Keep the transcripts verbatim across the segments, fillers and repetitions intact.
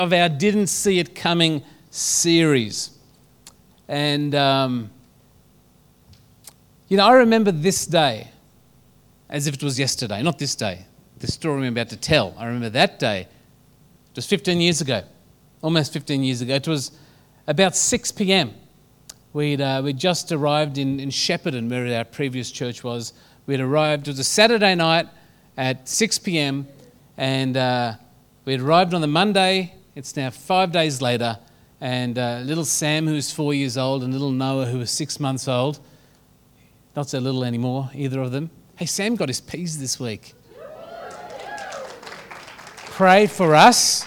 of our Didn't See It Coming series. And, um, you know, I remember this day as if it was yesterday. Not this day, the story I'm about to tell. I remember that day. It was fifteen years ago, almost fifteen years ago. It was about six p.m. We'd, uh, we'd just arrived in, in Shepparton, where our previous church was. We'd arrived, it was a Saturday night at six p.m. and uh, we'd arrived on the Monday. It's now five days later, and uh, little Sam, who's four years old, and little Noah, who was six months old, not so little anymore, either of them. Hey, Sam got his P's this week. Pray for us.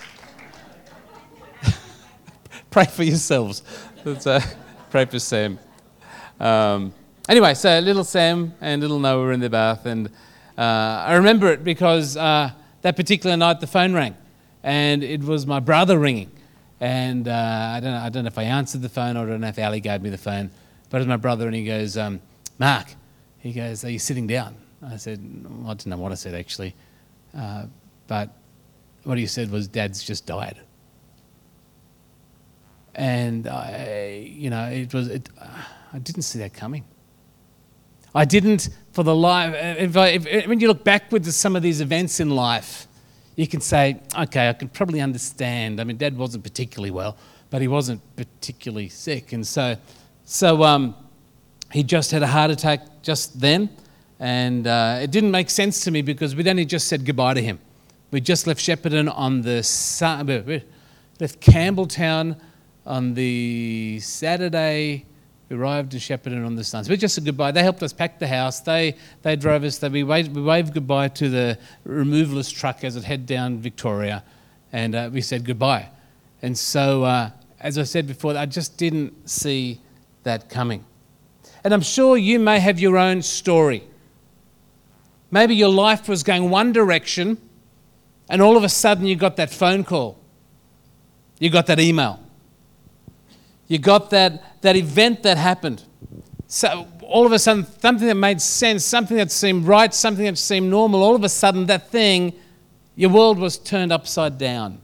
Pray for yourselves. That's, uh, pray for Sam. Um, anyway, so little Sam and little Noah were in the bath, and uh, I remember it because uh, that particular night the phone rang, and it was my brother ringing. And uh, I don't know, I don't know if I answered the phone, or I don't know if Ali gave me the phone, but it was my brother, and he goes, um, Mark, he goes, are you sitting down? I said, well, I don't know what I said actually, uh, but what he said was, Dad's just died. And I, you know, it was, it, uh, I didn't see that coming. I didn't, for the life, if I, if, when you look backward to some of these events in life, you can say, okay, I can probably understand. I mean, Dad wasn't particularly well, but he wasn't particularly sick. And so, so um, he just had a heart attack just then. And uh, it didn't make sense to me because we'd only just said goodbye to him. We just left Shepparton on the, we left Campbelltown on the Saturday. We arrived in Shepparton on the Sunday. So we just said goodbye. They helped us pack the house. They they drove us. They, we, waved, we waved goodbye to the removalist truck as it headed down Victoria. And uh, we said goodbye. And so, uh, as I said before, I just didn't see that coming. And I'm sure you may have your own story. Maybe your life was going one direction, and all of a sudden you got that phone call. You got that email. You got that, that event that happened. So all of a sudden, something that made sense, something that seemed right, something that seemed normal, all of a sudden that thing, your world was turned upside down.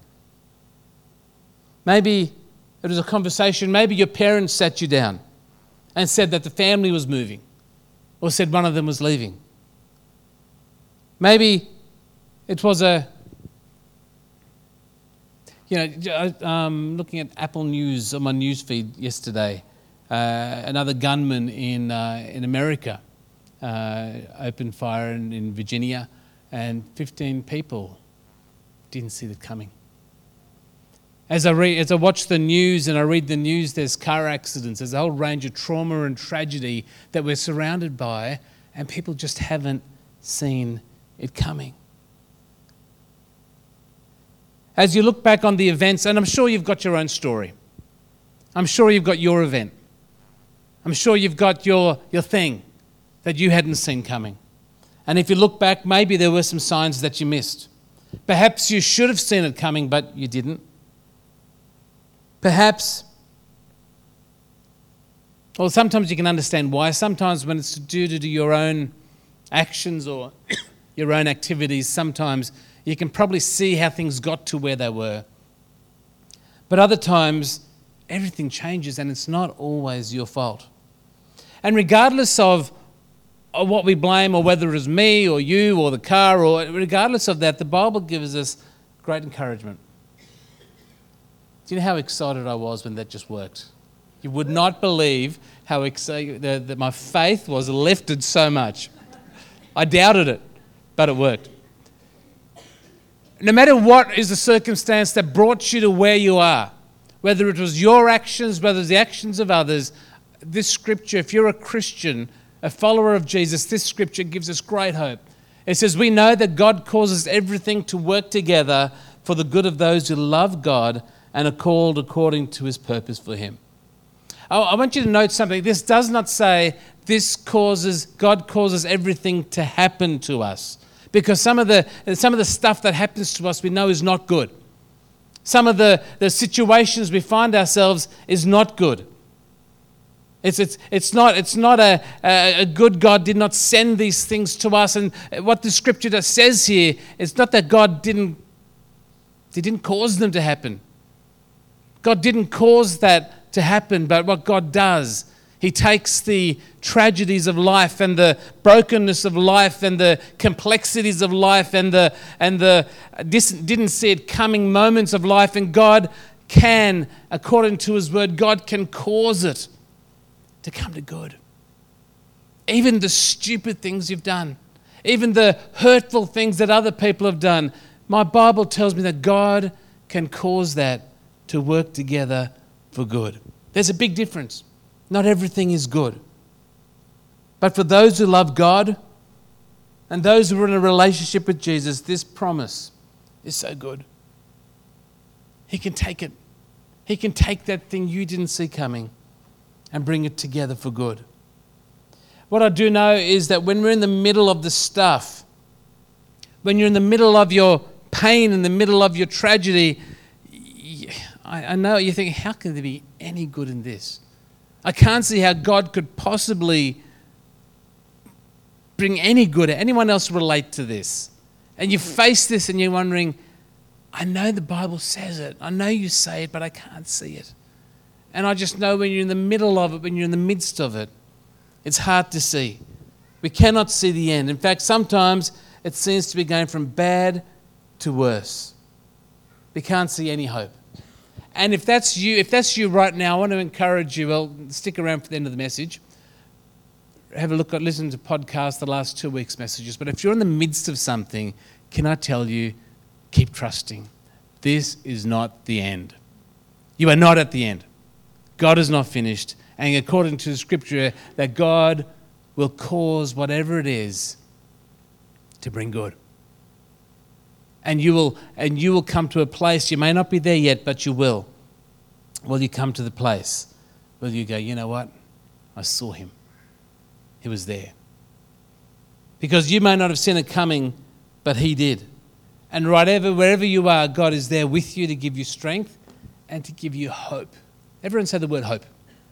Maybe it was a conversation, maybe your parents sat you down and said that the family was moving, or said one of them was leaving. Maybe it was a, you know, um, looking at Apple News on my news feed yesterday, uh, another gunman in uh, in America uh, opened fire in, in Virginia, and fifteen people didn't see that coming. As I read, as I watch the news and I read the news, there's car accidents, there's a whole range of trauma and tragedy that we're surrounded by, and people just haven't seen it coming. As you look back on the events, and I'm sure you've got your own story. I'm sure you've got your event. I'm sure you've got your, your thing that you hadn't seen coming. And if you look back, maybe there were some signs that you missed. Perhaps you should have seen it coming, but you didn't. Perhaps, well, sometimes you can understand why. Sometimes when it's due to your own actions or your own activities, sometimes you can probably see how things got to where they were. But other times, everything changes and it's not always your fault. And regardless of, of what we blame, or whether it was me or you or the car, or regardless of that, the Bible gives us great encouragement. Do you know how excited I was when that just worked? You would not believe how excited that, that my faith was lifted so much. I doubted it, but it worked. No matter what is the circumstance that brought you to where you are, whether it was your actions, whether it was the actions of others, this scripture, if you're a Christian, a follower of Jesus, this scripture gives us great hope. It says, we know that God causes everything to work together for the good of those who love God and are called according to his purpose for him. I want you to note something. This does not say this causes, God causes everything to happen to us. Because some of the some of the stuff that happens to us we know is not good. Some of the, the situations we find ourselves is not good. It's it's it's not it's not a, a, a good God did not send these things to us. And what the scripture says here is not that God didn't He didn't cause them to happen. God didn't cause that to happen, but what God does, He takes the tragedies of life and the brokenness of life and the complexities of life and the and the didn't see it coming moments of life, and God can, according to His word, God can cause it to come to good. Even the stupid things you've done, even the hurtful things that other people have done, my Bible tells me that God can cause that to work together for good. There's a big difference. Not everything is good. But for those who love God and those who are in a relationship with Jesus, this promise is so good. He can take it. He can take that thing you didn't see coming and bring it together for good. What I do know is that when we're in the middle of the stuff, when you're in the middle of your pain, in the middle of your tragedy, I, I know you think, how can there be any good in this? I can't see how God could possibly bring any good. Anyone else relate to this? And you face this and you're wondering, I know the Bible says it. I know you say it, but I can't see it. And I just know when you're in the middle of it, when you're in the midst of it, it's hard to see. We cannot see the end. In fact, sometimes it seems to be going from bad to worse. We can't see any hope. And if that's you, if that's you right now, I want to encourage you, well, stick around for the end of the message. Have a look at, listen to podcasts, the last two weeks' messages. But if you're in the midst of something, can I tell you, keep trusting. This is not the end. You are not at the end. God is not finished. And according to the scripture, that God will cause whatever it is to bring good. And you will and you will come to a place, you may not be there yet, but you will. Will you come to the place where you go, you know what? I saw Him. He was there. Because you may not have seen it coming, but He did. And whatever, wherever you are, God is there with you to give you strength and to give you hope. Everyone say the word hope.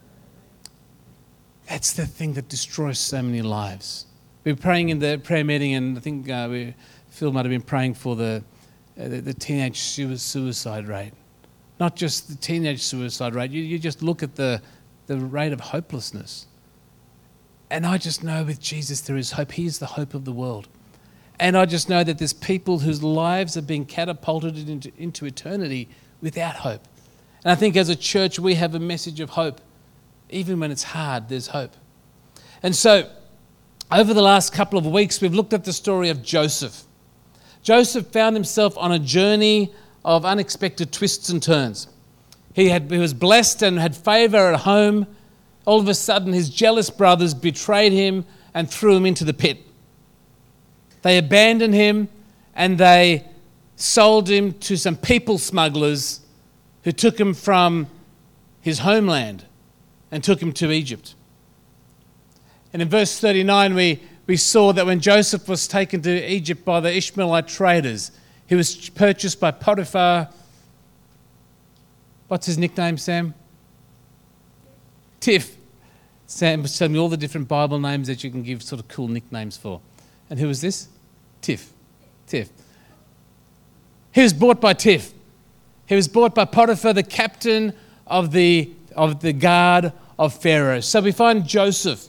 That's the thing that destroys so many lives. We were praying in the prayer meeting, and I think uh, we, Phil might have been praying for the, uh, the, the teenage suicide rate. Not just the teenage suicide rate. You, you just look at the, the rate of hopelessness. And I just know with Jesus there is hope. He is the hope of the world. And I just know that there's people whose lives are being catapulted into, into eternity without hope. And I think as a church we have a message of hope. Even when it's hard, there's hope. And so over the last couple of weeks we've looked at the story of Joseph. Joseph found himself on a journey of unexpected twists and turns. He, had, he was blessed and had favour at home. All of a sudden his jealous brothers betrayed him and threw him into the pit. They abandoned him and they sold him to some people smugglers who took him from his homeland and took him to Egypt. And in verse thirty-nine, we, we saw that when Joseph was taken to Egypt by the Ishmaelite traders, he was purchased by Potiphar. What's his nickname, Sam? Tiff. Sam was telling me all the different Bible names that you can give sort of cool nicknames for. And who was this? Tiff. Tiff. He was bought by Tiff. He was bought by Potiphar, the captain of the, of the guard of Pharaoh. So we find Joseph.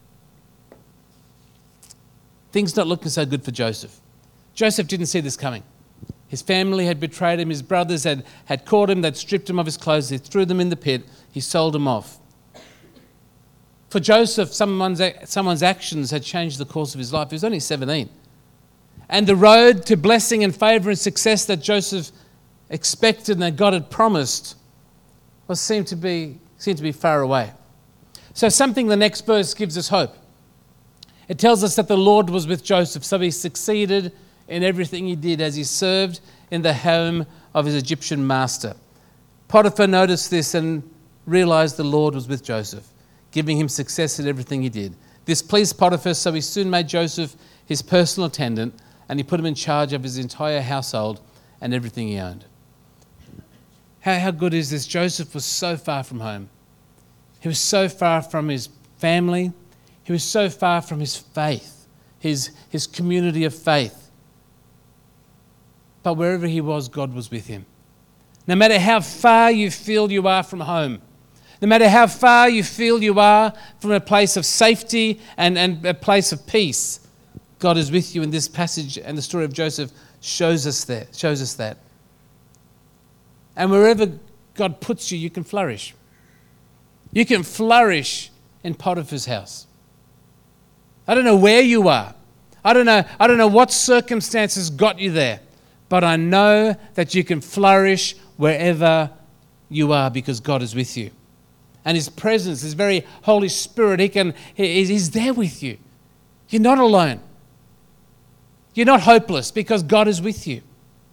Things not looking so good for Joseph. Joseph didn't see this coming. His family had betrayed him. His brothers had, had caught him. They'd stripped him of his clothes. They threw them in the pit. He sold them off. For Joseph, someone's, someone's actions had changed the course of his life. He was only seventeen. And the road to blessing and favour and success that Joseph expected and that God had promised was seemed to be, seemed to be far away. So something the next verse gives us hope. It tells us that the Lord was with Joseph, so he succeeded in everything he did as he served in the home of his Egyptian master. Potiphar noticed this and realised the Lord was with Joseph, giving him success in everything he did. This pleased Potiphar, so he soon made Joseph his personal attendant, and he put him in charge of his entire household and everything he owned. How, how good is this? Joseph was so far from home. He was so far from his family. He was so far from his faith, his, his community of faith. But wherever he was, God was with him. No matter how far you feel you are from home, no matter how far you feel you are from a place of safety and, and a place of peace, God is with you. In this passage, and the story of Joseph shows us that, shows us that. And wherever God puts you, you can flourish. You can flourish in Potiphar's house. I don't know where you are. I don't know, I don't know what circumstances got you there, but I know that you can flourish wherever you are because God is with you. And His presence, His very Holy Spirit, He can, he, He's there with you. You're not alone. You're not hopeless because God is with you.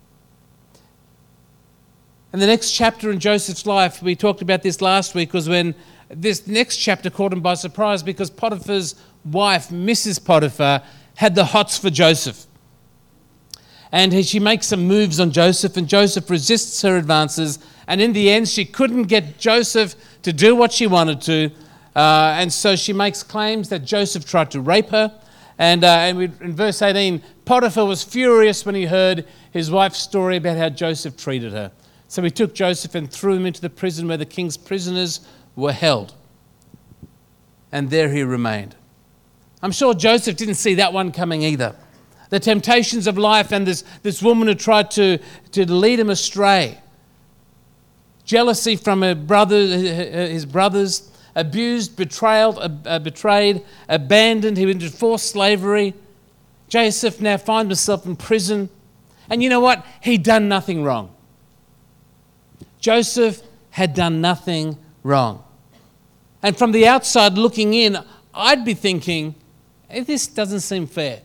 And the next chapter in Joseph's life, we talked about this last week, was when this next chapter caught him by surprise because Potiphar's wife, Missus Potiphar, had the hots for Joseph. And she makes some moves on Joseph, and Joseph resists her advances. And in the end, she couldn't get Joseph to do what she wanted to. Uh, and so she makes claims that Joseph tried to rape her. And, uh, and we, in verse eighteen, Potiphar was furious when he heard his wife's story about how Joseph treated her. So he took Joseph and threw him into the prison where the king's prisoners were held. And there he remained. I'm sure Joseph didn't see that one coming either. The temptations of life and this, this woman who tried to, to lead him astray. Jealousy from her brother, his brothers, abused, betrayed, uh, betrayed, abandoned, he went into forced slavery. Joseph now finds himself in prison. And you know what? He'd done nothing wrong. Joseph had done nothing wrong. And from the outside looking in, I'd be thinking, hey, this doesn't seem fair.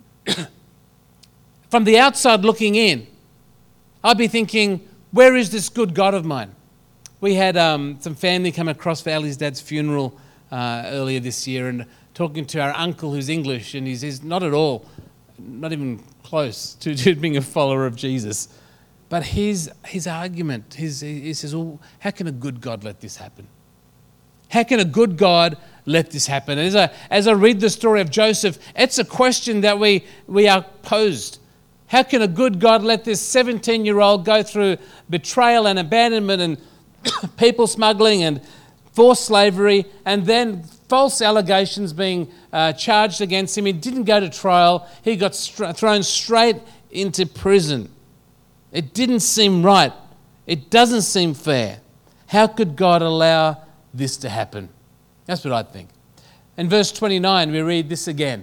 From the outside looking in, I'd be thinking, where is this good God of mine? We had um, some family come across for Ali's dad's funeral uh, earlier this year, and talking to our uncle who's English, and he's, he's not at all, not even close to, to being a follower of Jesus. But his his argument, his, he says, well, how can a good God let this happen? How can a good God let this happen? And as I, as I read the story of Joseph, it's a question that we, we are posed. How can a good God let this seventeen-year-old go through betrayal and abandonment and people smuggling and forced slavery, and then false allegations being uh, charged against him? He didn't go to trial. He got str- thrown straight into prison. It didn't seem right. It doesn't seem fair. How could God allow this to happen? That's what I think. In verse twenty-nine, we read this again.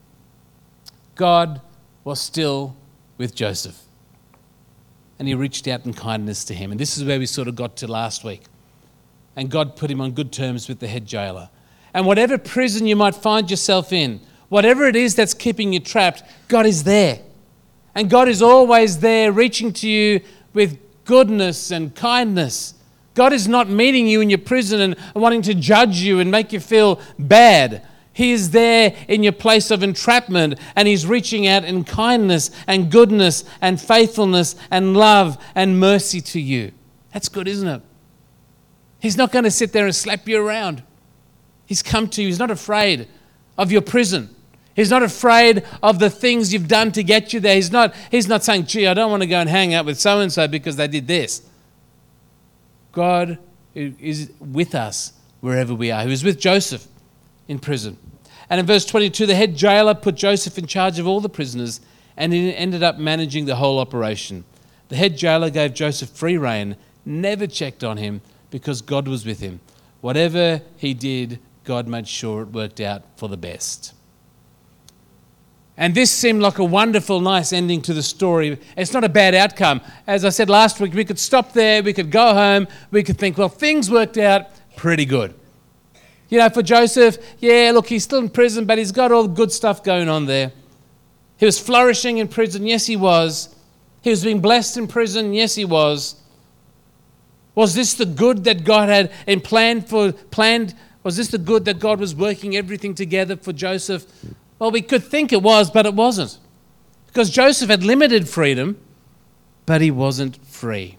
God was still with Joseph, and He reached out in kindness to him. And this is where we sort of got to last week. And God put him on good terms with the head jailer. And whatever prison you might find yourself in, whatever it is that's keeping you trapped, God is there. And God is always there, reaching to you with goodness and kindness. God is not meeting you in your prison and wanting to judge you and make you feel bad. He is there in your place of entrapment, and He's reaching out in kindness and goodness and faithfulness and love and mercy to you. That's good, isn't it? He's not going to sit there and slap you around. He's come to you. He's not afraid of your prison. He's not afraid of the things you've done to get you there. He's not, he's not saying, gee, I don't want to go and hang out with so-and-so because they did this. God is with us wherever we are. He was with Joseph in prison. And in verse twenty-two, the head jailer put Joseph in charge of all the prisoners, and he ended up managing the whole operation. The head jailer gave Joseph free rein, never checked on him because God was with him. Whatever he did, God made sure it worked out for the best. And this seemed like a wonderful, nice ending to the story. It's not a bad outcome. As I said last week, we could stop there, we could go home, we could think, well, things worked out pretty good. You know, for Joseph, yeah, look, he's still in prison, but he's got all the good stuff going on there. He was flourishing in prison, yes, he was. He was being blessed in prison, yes, he was. Was this the good that God had and planned for? Planned? Was this the good that God was working everything together for Joseph? Well, we could think it was, but it wasn't. Because Joseph had limited freedom, but he wasn't free.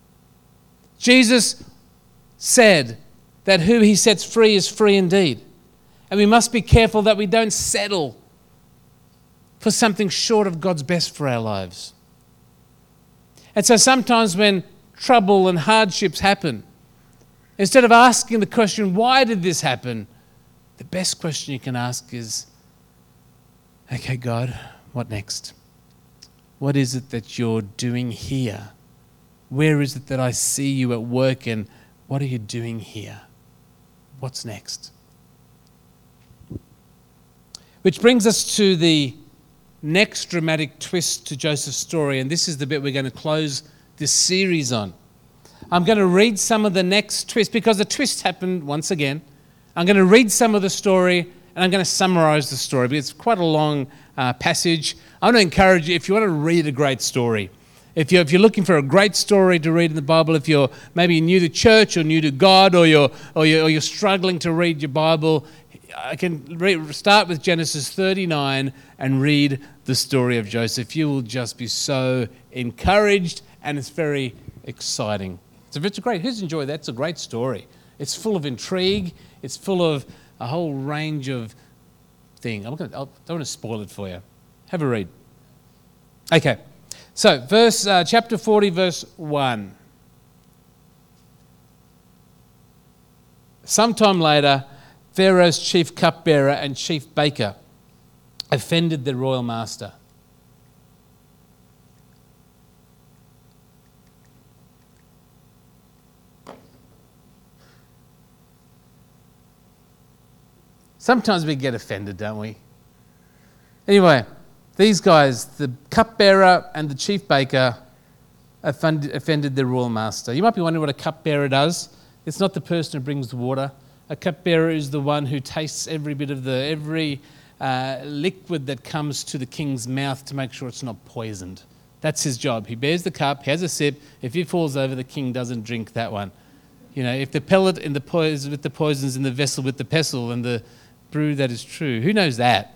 Jesus said that who He sets free is free indeed. And we must be careful that we don't settle for something short of God's best for our lives. And so sometimes when trouble and hardships happen, instead of asking the question, why did this happen? The best question you can ask is, okay, God, what next? What is it that you're doing here? Where is it that I see you at work, and what are you doing here? What's next? Which brings us to the next dramatic twist to Joseph's story, and this is the bit we're going to close this series on. I'm going to read some of the next twist, because the twist happened once again. I'm going to read some of the story, and I'm going to summarize the story, because it's quite a long uh, passage. I want to encourage you, if you want to read a great story, if you're, if you're looking for a great story to read in the Bible, if you're maybe new to church or new to God, or you're, or you're, or you're struggling to read your Bible, I can re- start with Genesis thirty-nine and read the story of Joseph. You will just be so encouraged, and it's very exciting. So it's a great, who's enjoyed that? It's a great story. It's full of intrigue. It's full of a whole range of things. I'm gonna, I don't want to spoil it for you. Have a read. Okay, so verse uh, chapter forty, verse one. Sometime later, Pharaoh's chief cupbearer and chief baker offended the royal master. Sometimes we get offended, don't we? Anyway, these guys, the cupbearer and the chief baker, offended, offended the royal master. You might be wondering what a cupbearer does. It's not the person who brings the water. A cupbearer is the one who tastes every bit of the, every uh, liquid that comes to the king's mouth to make sure it's not poisoned. That's his job. He bears the cup, has a sip. If he falls over, the king doesn't drink that one. You know, if the pellet in the poison with the poisons in the vessel with the pestle and the brew that is true. Who knows that?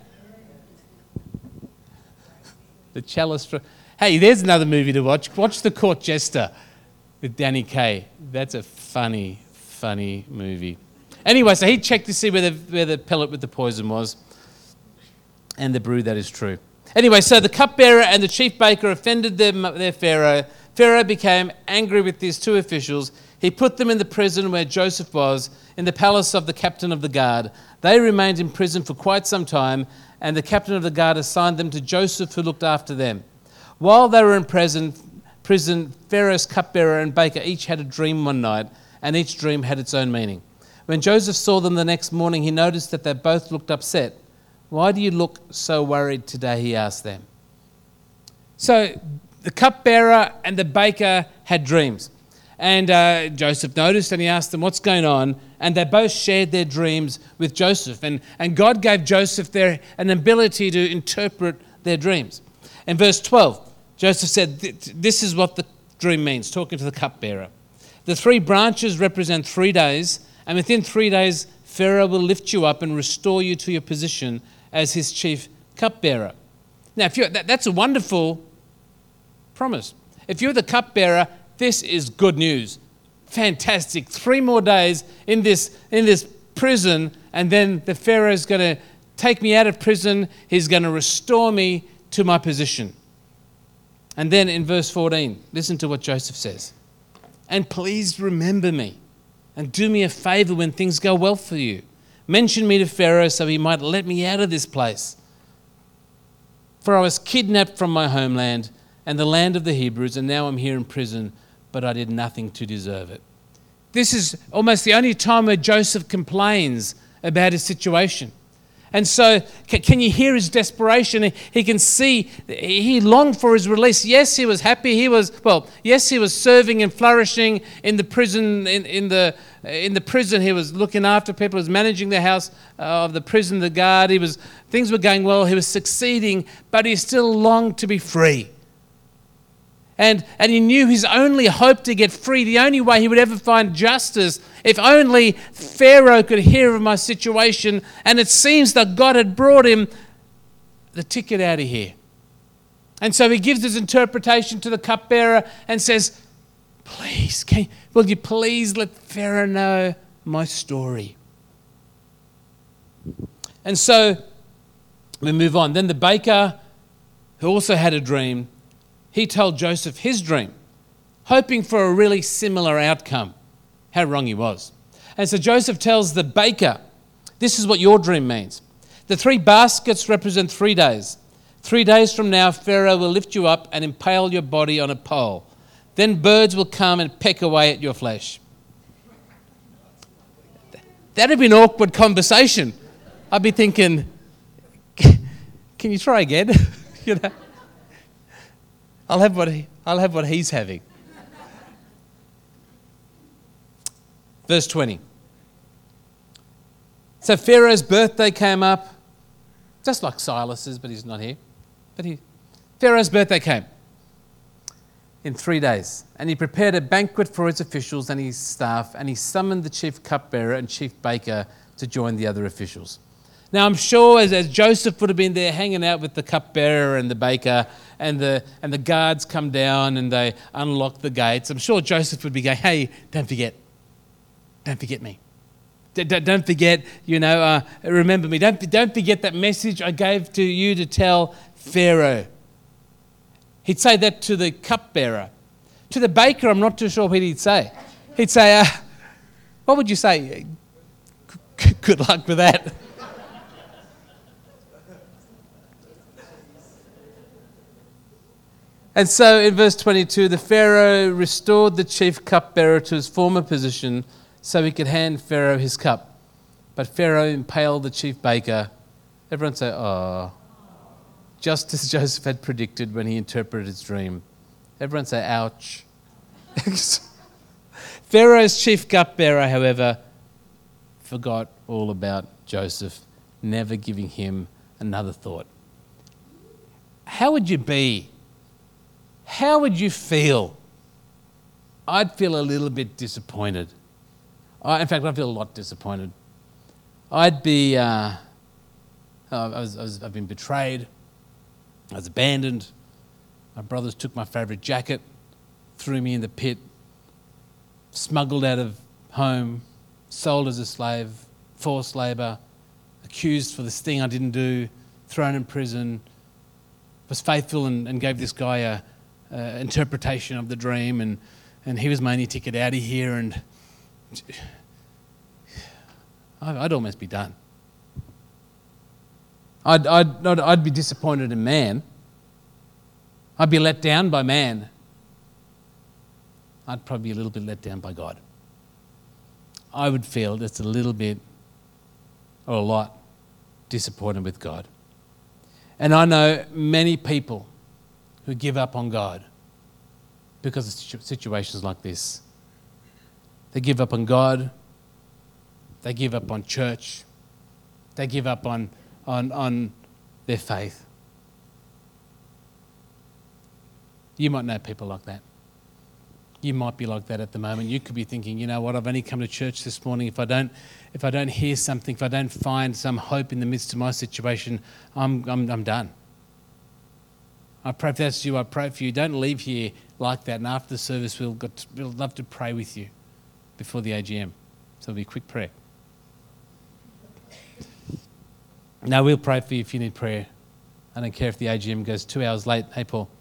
The chalice. For, hey, there's another movie to watch. Watch The Court Jester with Danny Kaye. That's a funny, funny movie. Anyway, so he checked to see where the, where the pellet with the poison was and the brew that is true. Anyway, so the cupbearer and the chief baker offended their, their Pharaoh. Pharaoh became angry with these two officials. He put them in the prison where Joseph was, in the palace of the captain of the guard. They remained in prison for quite some time, and the captain of the guard assigned them to Joseph, who looked after them. While they were in prison, prison, Pharaoh's cupbearer and baker each had a dream one night, and each dream had its own meaning. When Joseph saw them the next morning, he noticed that they both looked upset. "Why do you look so worried today?" he asked them. So the cupbearer and the baker had dreams. And uh, Joseph noticed, and he asked them, "What's going on?" And they both shared their dreams with Joseph. And, and God gave Joseph their, an ability to interpret their dreams. In verse twelve, Joseph said, this is what the dream means, talking to the cupbearer. "The three branches represent three days, and within three days, Pharaoh will lift you up and restore you to your position as his chief cupbearer." Now, if you're, that, that's a wonderful promise. If you're the cupbearer, this is good news. Fantastic. Three more days in this, in this prison, and then the Pharaoh's going to take me out of prison. He's going to restore me to my position. And then in verse fourteen, listen to what Joseph says. "And please remember me and do me a favor when things go well for you. Mention me to Pharaoh so he might let me out of this place. For I was kidnapped from my homeland and the land of the Hebrews, and now I'm here in prison, but I did nothing to deserve it." This is almost the only time where Joseph complains about his situation. And so can you hear his desperation? He can see, he longed for his release. Yes, he was happy. He was, well, yes, he was serving and flourishing in the prison, in, in the in the prison. He was looking after people, he was managing the house of the prison, the guard. He was, things were going well. He was succeeding, but he still longed to be free. And, and he knew his only hope to get free, the only way he would ever find justice, if only Pharaoh could hear of my situation. And it seems that God had brought him the ticket out of here. And so he gives his interpretation to the cupbearer and says, "Please, can, will you please let Pharaoh know my story?" And so we move on. Then the baker, who also had a dream, he told Joseph his dream. hoping for a really similar outcome. How wrong he was. And so Joseph tells the baker, this is what your dream means. The three baskets represent three days. Three days from now, Pharaoh will lift you up and impale your body on a pole. Then birds will come and peck away at your flesh. That'd be an awkward conversation. I'd be thinking, can you try again? you know, I'll have what he, I'll have what he's having. Verse twenty. So Pharaoh's birthday came up, just like Silas's, but he's not here. But he, Pharaoh's birthday came in three days, and he prepared a banquet for his officials and his staff, and he summoned the chief cupbearer and chief baker to join the other officials. Now I'm sure as, as Joseph would have been there hanging out with the cupbearer and the baker, and the and the guards come down and they unlock the gates, I'm sure Joseph would be going, hey, don't forget, don't forget me. Don't forget, you know, uh, remember me. Don't, don't forget that message I gave to you to tell Pharaoh. He'd say that to the cupbearer. To the baker, I'm not too sure what he'd say. He'd say, uh, what would you say? Good luck with that. And so in verse twenty-two, the Pharaoh restored the chief cupbearer to his former position so he could hand Pharaoh his cup. But Pharaoh impaled the chief baker. Everyone say, oh. Just as Joseph had predicted when he interpreted his dream. Everyone say, ouch. Pharaoh's chief cupbearer, however, forgot all about Joseph, never giving him another thought. How would you be? How would you feel? I'd feel a little bit disappointed. I, in fact, I'd feel a lot disappointed. I'd be, uh, I was, I was, I've been betrayed. I was abandoned. My brothers took my favourite jacket, threw me in the pit, smuggled out of home, sold as a slave, forced labour, accused for this thing I didn't do, thrown in prison, was faithful and, and gave this guy a, a interpretation of the dream, and, and he was my only ticket out of here, and I'd almost be done. I'd, I'd, I'd, I'd be disappointed in man. I'd be let down by man. I'd probably be a little bit let down by God. I would feel just a little bit or a lot disappointed with God. And I know many people who give up on God because of situations like this. They give up on God. They give up on church. They give up on, on, on their faith. You might know people like that. You might be like that at the moment. You could be thinking, you know what, I've only come to church this morning. If I don't, if I don't hear something, if I don't find some hope in the midst of my situation, I'm, I'm, I'm done. I pray if that's you, I pray for you. Don't leave here like that. And after the service, we'll, got to, we'll love to pray with you before the A G M. So it'll be a quick prayer. No, we'll pray for you if you need prayer. I don't care if the A G M goes two hours late. Hey, Paul.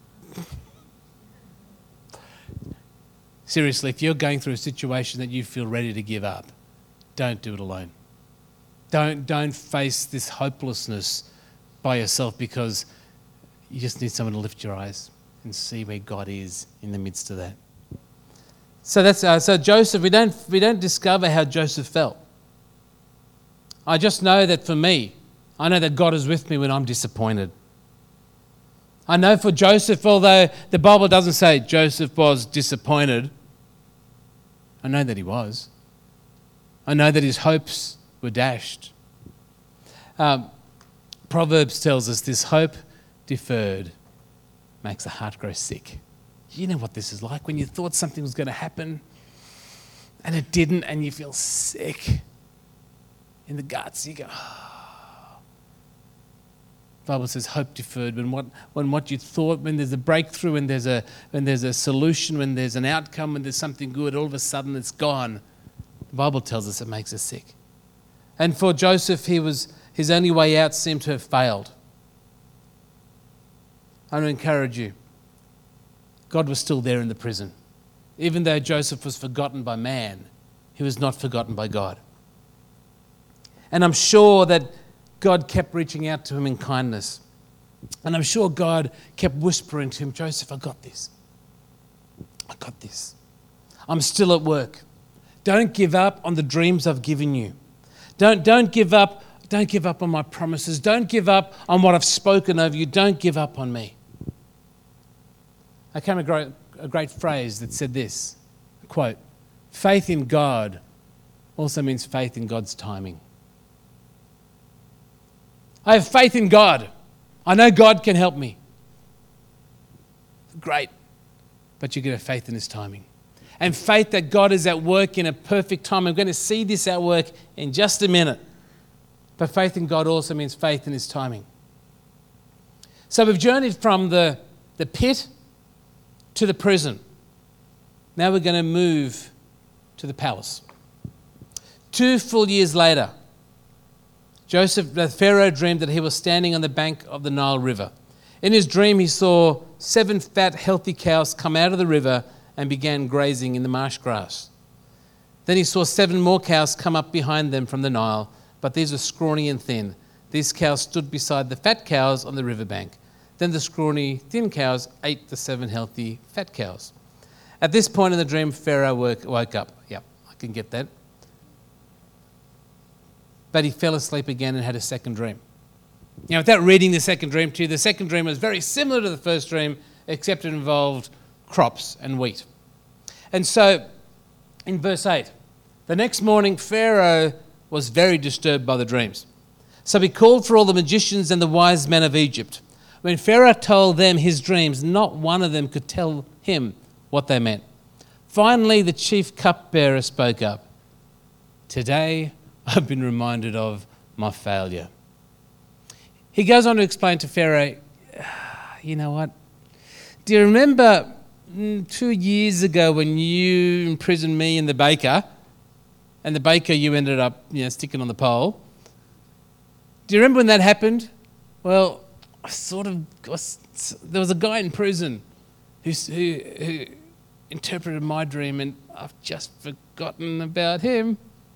Seriously, if you're going through a situation that you feel ready to give up, don't do it alone. Don't, don't face this hopelessness by yourself, because you just need someone to lift your eyes and see where God is in the midst of that. So that's uh, so Joseph. We don't we don't discover how Joseph felt. I just know that for me, I know that God is with me when I'm disappointed. I know for Joseph, although the Bible doesn't say Joseph was disappointed, I know that he was. I know that his hopes were dashed. Um, Proverbs tells us this: hope deferred makes the heart grow sick. You know what this is like when you thought something was going to happen and it didn't, and you feel sick in the guts. You go, oh. The Bible says hope deferred, when what when what you thought, when there's a breakthrough, when there's a when there's a solution, when there's an outcome, when there's something good, all of a sudden it's gone. The Bible tells us it makes us sick. And for Joseph, he was his only way out seemed to have failed. I want to encourage you. God was still there in the prison. Even though Joseph was forgotten by man, he was not forgotten by God. And I'm sure that God kept reaching out to him in kindness. And I'm sure God kept whispering to him, Joseph, I got this. I got this. I'm still at work. Don't give up on the dreams I've given you. Don't, don't give up. Don't give up on my promises. Don't give up on what I've spoken over you. Don't give up on me. I came across a great phrase that said this, quote, faith in God also means faith in God's timing. I have faith in God. I know God can help me. Great. But you get a faith in his timing. And faith that God is at work in a perfect time. I'm going to see this at work in just a minute. But faith in God also means faith in his timing. So we've journeyed from the, the pit to the prison. Now we're going to move to the palace. Two full years later, Joseph, the Pharaoh dreamed that he was standing on the bank of the Nile River. In his dream, he saw seven fat, healthy cows come out of the river and began grazing in the marsh grass. Then he saw seven more cows come up behind them from the Nile, but these were scrawny and thin. These cows stood beside the fat cows on the riverbank. Then the scrawny, thin cows ate the seven healthy, fat cows. At this point in the dream, Pharaoh woke, woke up. Yep, I can get that. But he fell asleep again and had a second dream. Now, without reading the second dream to you, the second dream was very similar to the first dream, except it involved crops and wheat. And so, in verse eight, the next morning, Pharaoh was very disturbed by the dreams. So he called for all the magicians and the wise men of Egypt. When Pharaoh told them his dreams, not one of them could tell him what they meant. Finally, the chief cupbearer spoke up. Today, I've been reminded of my failure. He goes on to explain to Pharaoh, you know what? Do you remember two years ago when you imprisoned me and the baker, and the baker you ended up you know, sticking on the pole? Do you remember when that happened? Well, I sort of, was, there was a guy in prison who, who, who interpreted my dream, and I've just forgotten about him.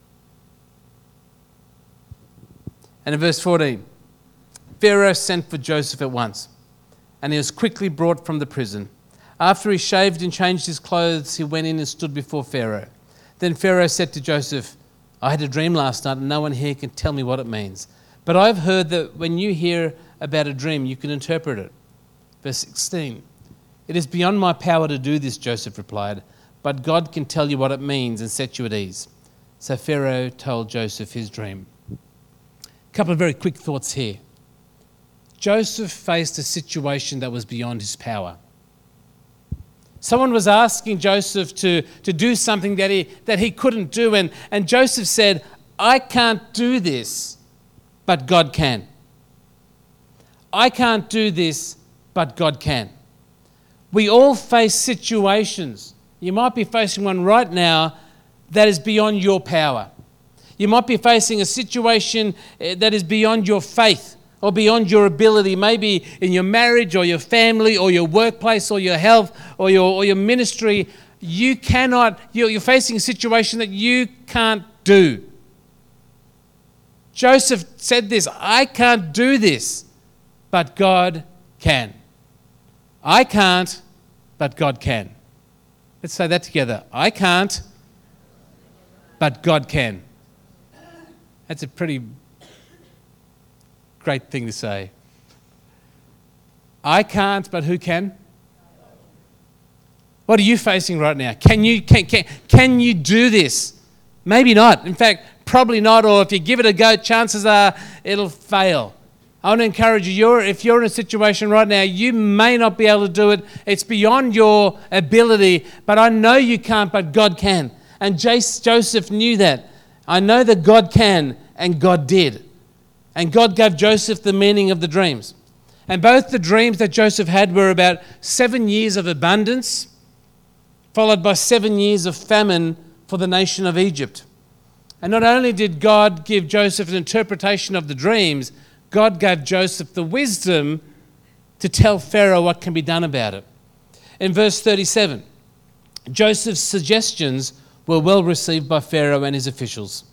And in verse fourteen, Pharaoh sent for Joseph at once, and he was quickly brought from the prison. After he shaved and changed his clothes, he went in and stood before Pharaoh. Then Pharaoh said to Joseph, I had a dream last night, and no one here can tell me what it means. But I've heard that when you hear about a dream, you can interpret it. Verse sixteen, it is beyond my power to do this, Joseph replied, but God can tell you what it means and set you at ease. So Pharaoh told Joseph his dream. A couple of very quick thoughts here. Joseph faced a situation that was beyond his power. Someone was asking Joseph to, to do something that he, that he couldn't do, and, and Joseph said, I can't do this, but God can. I can't do this, but God can. We all face situations. You might be facing one right now that is beyond your power. You might be facing a situation that is beyond your faith or beyond your ability, maybe in your marriage or your family or your workplace or your health or your, or your ministry. You cannot, you're, you're facing a situation that you can't do. Joseph said this, I can't do this, but God can. I can't, but God can. Let's say that together. I can't, but God can. That's a pretty great thing to say. I can't, but who can? What are you facing right now? Can you, can, can, can you do this? Maybe not. In fact, probably not. Or if you give it a go, chances are it'll fail. I want to encourage you, you're, if you're in a situation right now, you may not be able to do it. It's beyond your ability, but I know you can't, but God can. And Joseph knew that. I know that God can, and God did. And God gave Joseph the meaning of the dreams. And both the dreams that Joseph had were about seven years of abundance, followed by seven years of famine for the nation of Egypt. And not only did God give Joseph an interpretation of the dreams, God gave Joseph the wisdom to tell Pharaoh what can be done about it. In verse thirty-seven, Joseph's suggestions were well received by Pharaoh and his officials.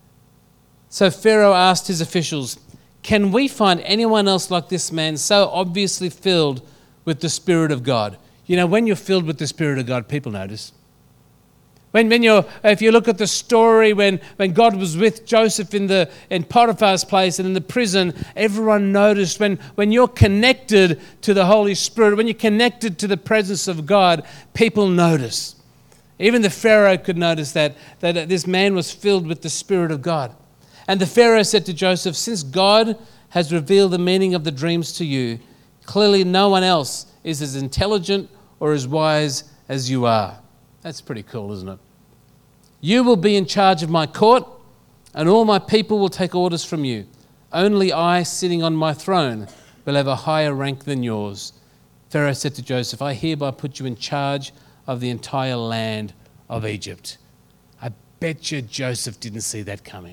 So Pharaoh asked his officials, "Can we find anyone else like this man, so obviously filled with the Spirit of God?" You know, when you're filled with the Spirit of God, people notice. When, when you're, if you look at the story when, when God was with Joseph in the in Potiphar's place and in the prison, everyone noticed. When, when you're connected to the Holy Spirit, when you're connected to the presence of God, people notice. Even the Pharaoh could notice that, that this man was filled with the Spirit of God. And the Pharaoh said to Joseph, "Since God has revealed the meaning of the dreams to you, clearly no one else is as intelligent or as wise as you are." That's pretty cool, isn't it? "You will be in charge of my court, and all my people will take orders from you. Only I, sitting on my throne, will have a higher rank than yours." Pharaoh said to Joseph, "I hereby put you in charge of the entire land of Egypt." I bet you Joseph didn't see that coming.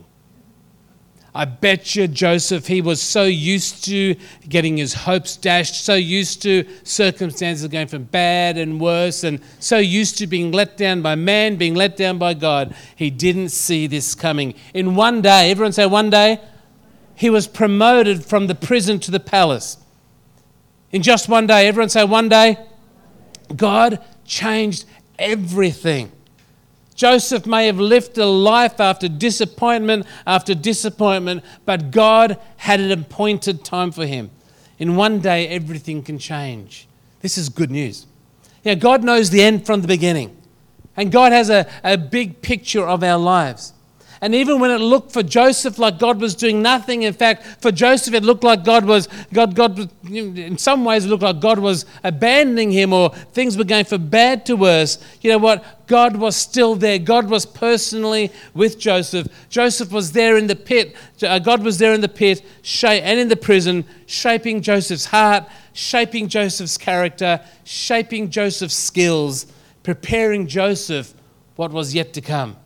I bet you Joseph, he was so used to getting his hopes dashed, so used to circumstances going from bad and worse, and so used to being let down by man, being let down by God. He didn't see this coming. In one day, everyone say one day, he was promoted from the prison to the palace. In just one day, everyone say one day, God changed everything. Joseph may have lived a life after disappointment after disappointment, but God had an appointed time for him. In one day, everything can change. This is good news. Yeah, God knows the end from the beginning, and God has a, a big picture of our lives. And even when it looked for Joseph like God was doing nothing, in fact, for Joseph it looked like God was, God, God, in some ways it looked like God was abandoning him, or things were going from bad to worse. You know what? God was still there. God was personally with Joseph. Joseph was there in the pit. God was there in the pit and in the prison, shaping Joseph's heart, shaping Joseph's character, shaping Joseph's skills, preparing Joseph what was yet to come.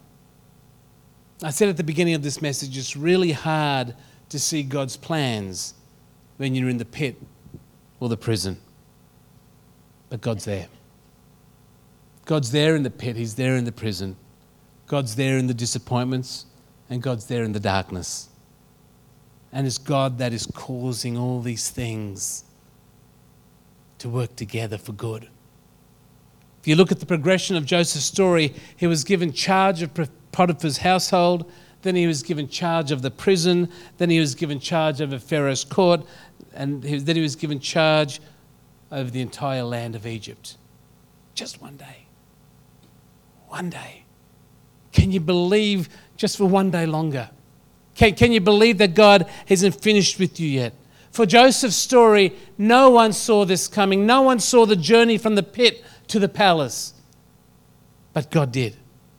I said at the beginning of this message, it's really hard to see God's plans when you're in the pit or the prison. But God's there. God's there in the pit. He's there in the prison. God's there in the disappointments, and God's there in the darkness. And it's God that is causing all these things to work together for good. If you look at the progression of Joseph's story, he was given charge of Potiphar's household, then he was given charge of the prison, then he was given charge of Pharaoh's court, and then he was given charge over the entire land of Egypt. Just one day. One day. Can you believe just for one day longer? Can, can you believe that God hasn't finished with you yet? For Joseph's story, no one saw this coming. No one saw the journey from the pit to the palace. But God did.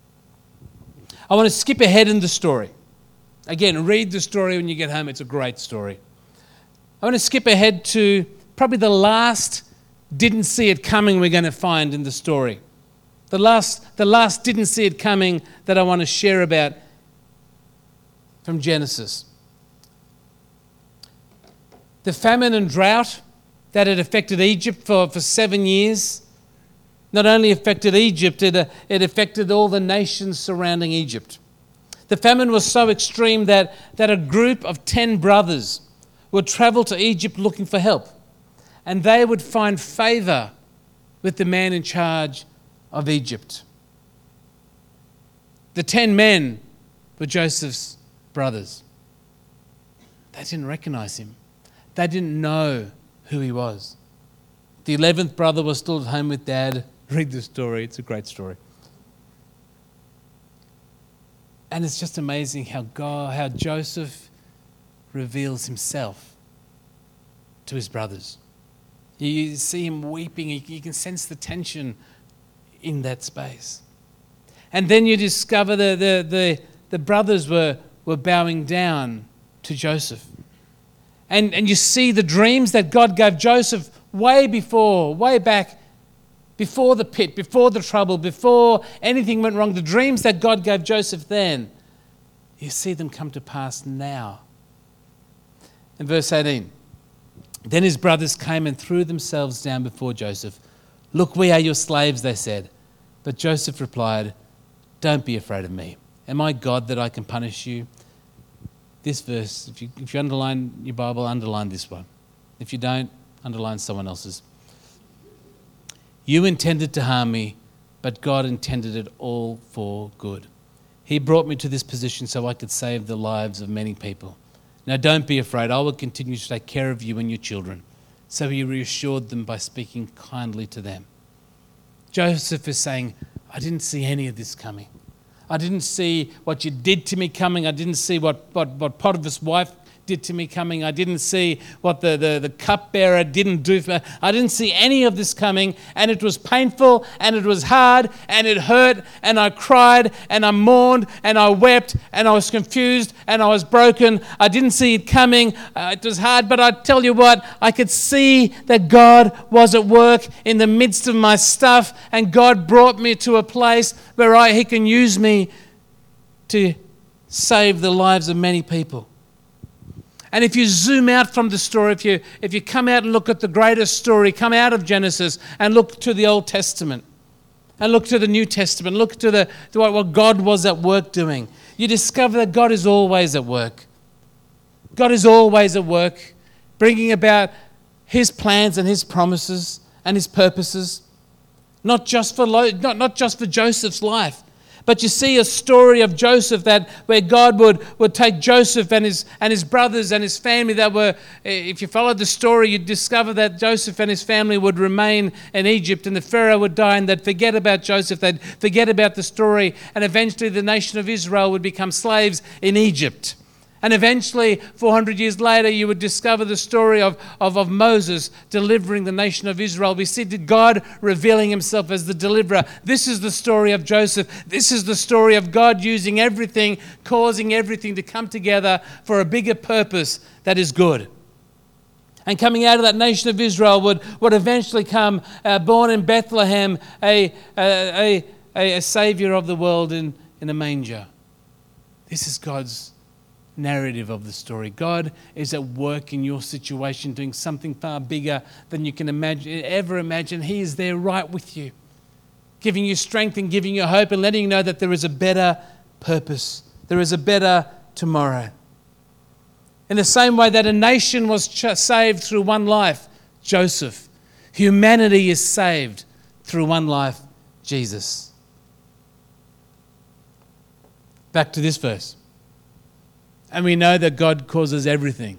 I want to skip ahead in the story. Again, read the story when you get home. It's a great story. I want to skip ahead to probably the last didn't see it coming we're going to find in the story. The last, the last didn't see it coming that I want to share about from Genesis. The famine and drought that had affected Egypt for, for seven years not only affected Egypt, it, uh, it affected all the nations surrounding Egypt. The famine was so extreme that, that a group of ten brothers would travel to Egypt looking for help, and they would find favor with the man in charge of Egypt. The ten men were Joseph's brothers. They didn't recognize him. They didn't know who he was. The eleventh brother was still at home with dad. Read the story. It's a great story. And it's just amazing how God, how Joseph reveals himself to his brothers. You see him weeping. You can sense the tension in that space. And then you discover the, the, the, the brothers were, were bowing down to Joseph. And, and you see the dreams that God gave Joseph way before, way back, before the pit, before the trouble, before anything went wrong, the dreams that God gave Joseph then, you see them come to pass now. In verse eighteen, then his brothers came and threw themselves down before Joseph, "Look, we are your slaves," they said. But Joseph replied, "Don't be afraid of me. Am I God that I can punish you?" This verse, if you, if you underline your Bible, underline this one. If you don't, underline someone else's. "You intended to harm me, but God intended it all for good. He brought me to this position so I could save the lives of many people. Now don't be afraid. I will continue to take care of you and your children." So he reassured them by speaking kindly to them. Joseph is saying, "I didn't see any of this coming. I didn't see what you did to me coming. I didn't see what, what, what Potiphar's wife did to me coming. I didn't see what the, the, the cupbearer didn't do for me. I didn't see any of this coming, and it was painful, and it was hard, and it hurt, and I cried, and I mourned, and I wept, and I was confused, and I was broken. I didn't see it coming. Uh, it was hard, but I tell you what, I could see that God was at work in the midst of my stuff, and God brought me to a place where I, He can use me to save the lives of many people." And if you zoom out from the story, if you if you come out and look at the greatest story, come out of Genesis and look to the Old Testament and look to the New Testament, look to the to what God was at work doing, you discover that God is always at work. God is always at work, bringing about His plans and His promises and His purposes, not just for not, not just for Joseph's life. But you see a story of Joseph that where God would, would take Joseph and his and his brothers and his family that were, if you followed the story, you'd discover that Joseph and his family would remain in Egypt, and the Pharaoh would die, and they'd forget about Joseph, they'd forget about the story, and eventually the nation of Israel would become slaves in Egypt. And eventually, four hundred years later, you would discover the story of, of, of Moses delivering the nation of Israel. We see God revealing Himself as the deliverer. This is the story of Joseph. This is the story of God using everything, causing everything to come together for a bigger purpose that is good. And coming out of that nation of Israel would, would eventually come, uh, born in Bethlehem, a, a, a, a Saviour of the world in, in a manger. This is God's narrative of the story. God is at work in your situation, doing something far bigger than you can imagine, ever imagine. He is there right with you, giving you strength and giving you hope and letting you know that there is a better purpose. There is a better tomorrow. In the same way that a nation was ch- saved through one life, Joseph, humanity is saved through one life, Jesus. Back to this verse. And we know that God causes everything.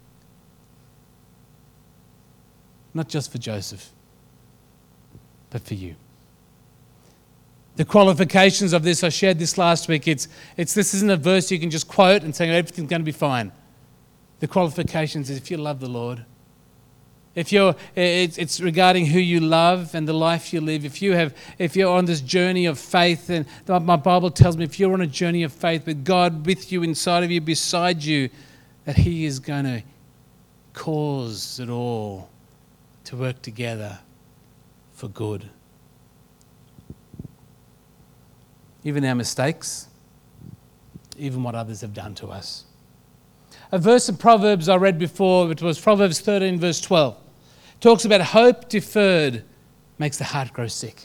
Not just for Joseph, but for you. The qualifications of this, I shared this last week. It's, it's this isn't a verse you can just quote and say everything's going to be fine. The qualifications is if you love the Lord, if you're, it's, it's regarding who you love and the life you live. If you have, if you're on this journey of faith, and my Bible tells me if you're on a journey of faith with God with you, inside of you, beside you, that He is going to cause it all to work together for good. Even our mistakes, even what others have done to us. A verse in Proverbs I read before, it was Proverbs thirteen verse twelve. Talks about hope deferred makes the heart grow sick.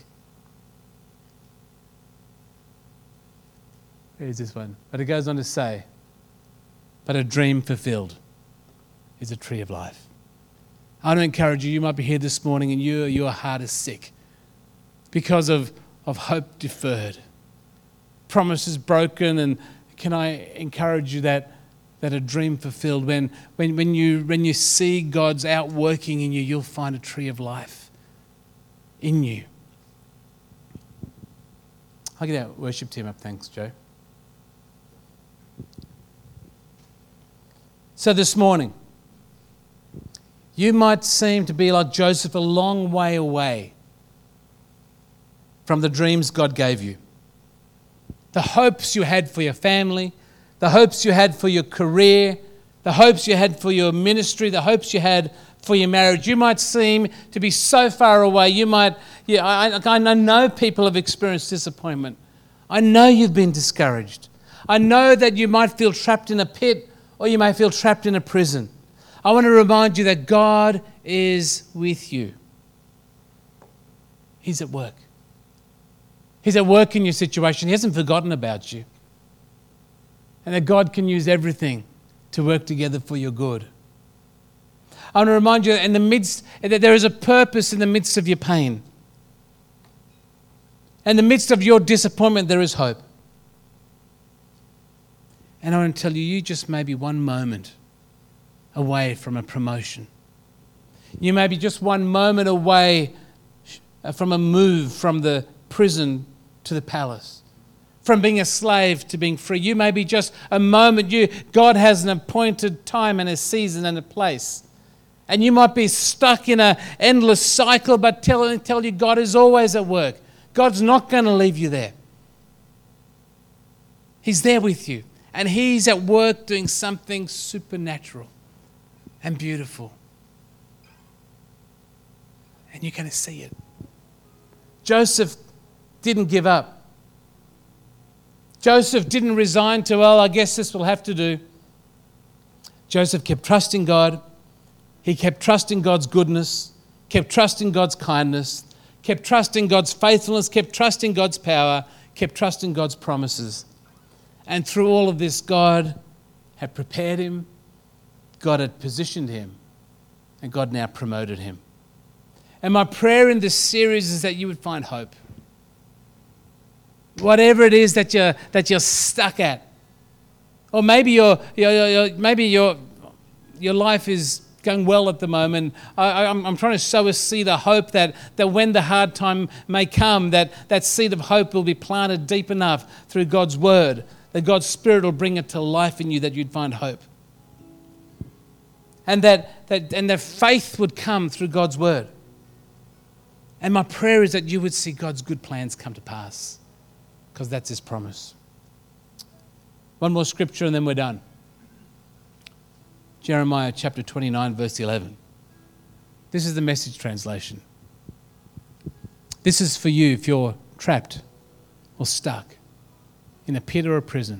Here's this one. But it goes on to say, but a dream fulfilled is a tree of life. I want to encourage you, you might be here this morning and you, your heart is sick because of, of hope deferred. Promises broken, and can I encourage you that that a dream fulfilled, when, when, when, you, when you see God's outworking in you, you'll find a tree of life in you. I'll get our worship team up. Thanks, Joe. So this morning, you might seem to be like Joseph, a long way away from the dreams God gave you. The hopes you had for your family, the hopes you had for your career, the hopes you had for your ministry, the hopes you had for your marriage. You might seem to be so far away. You might, yeah, I, I know people have experienced disappointment. I know you've been discouraged. I know that you might feel trapped in a pit, or you may feel trapped in a prison. I want to remind you that God is with you. He's at work. He's at work in your situation. He hasn't forgotten about you. And that God can use everything to work together for your good. I want to remind you in the midst that there is a purpose in the midst of your pain. In the midst of your disappointment, there is hope. And I want to tell you, you just may be one moment away from a promotion. You may be just one moment away from a move from the prison to the palace, from being a slave to being free. You may be just a moment. You, God has an appointed time and a season and a place. And you might be stuck in an endless cycle, but tell, tell you God is always at work. God's not going to leave you there. He's there with you. And He's at work doing something supernatural and beautiful. And you're going to see it. Joseph didn't give up. Joseph didn't resign to, well, I guess this will have to do. Joseph kept trusting God. He kept trusting God's goodness, kept trusting God's kindness, kept trusting God's faithfulness, kept trusting God's power, kept trusting God's promises. And through all of this, God had prepared him, God had positioned him, and God now promoted him. And my prayer in this series is that you would find hope. Whatever it is that you're, that you're stuck at. Or maybe, you're, you're, you're, maybe your your life is going well at the moment. I, I'm, I'm trying to sow a seed of hope that, that when the hard time may come, that, that seed of hope will be planted deep enough through God's word, that God's Spirit will bring it to life in you, that you'd find hope. And that, that, and that faith would come through God's word. And my prayer is that you would see God's good plans come to pass, because that's His promise. One more scripture and then we're done. Jeremiah chapter twenty-nine, verse eleven. This is the Message translation. This is for you if you're trapped or stuck in a pit or a prison.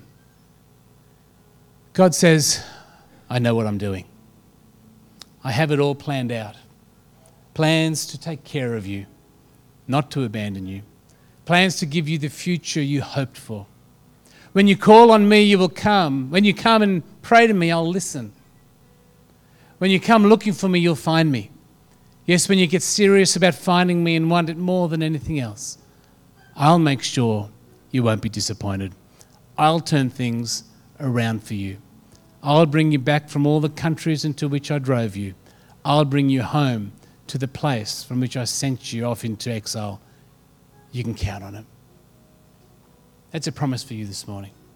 God says, I know what I'm doing. I have it all planned out. Plans to take care of you, not to abandon you. Plans to give you the future you hoped for. When you call on me, you will come. When you come and pray to me, I'll listen. When you come looking for me, you'll find me. Yes, when you get serious about finding me and want it more than anything else, I'll make sure you won't be disappointed. I'll turn things around for you. I'll bring you back from all the countries into which I drove you. I'll bring you home to the place from which I sent you off into exile. You can count on it. That's a promise for you this morning.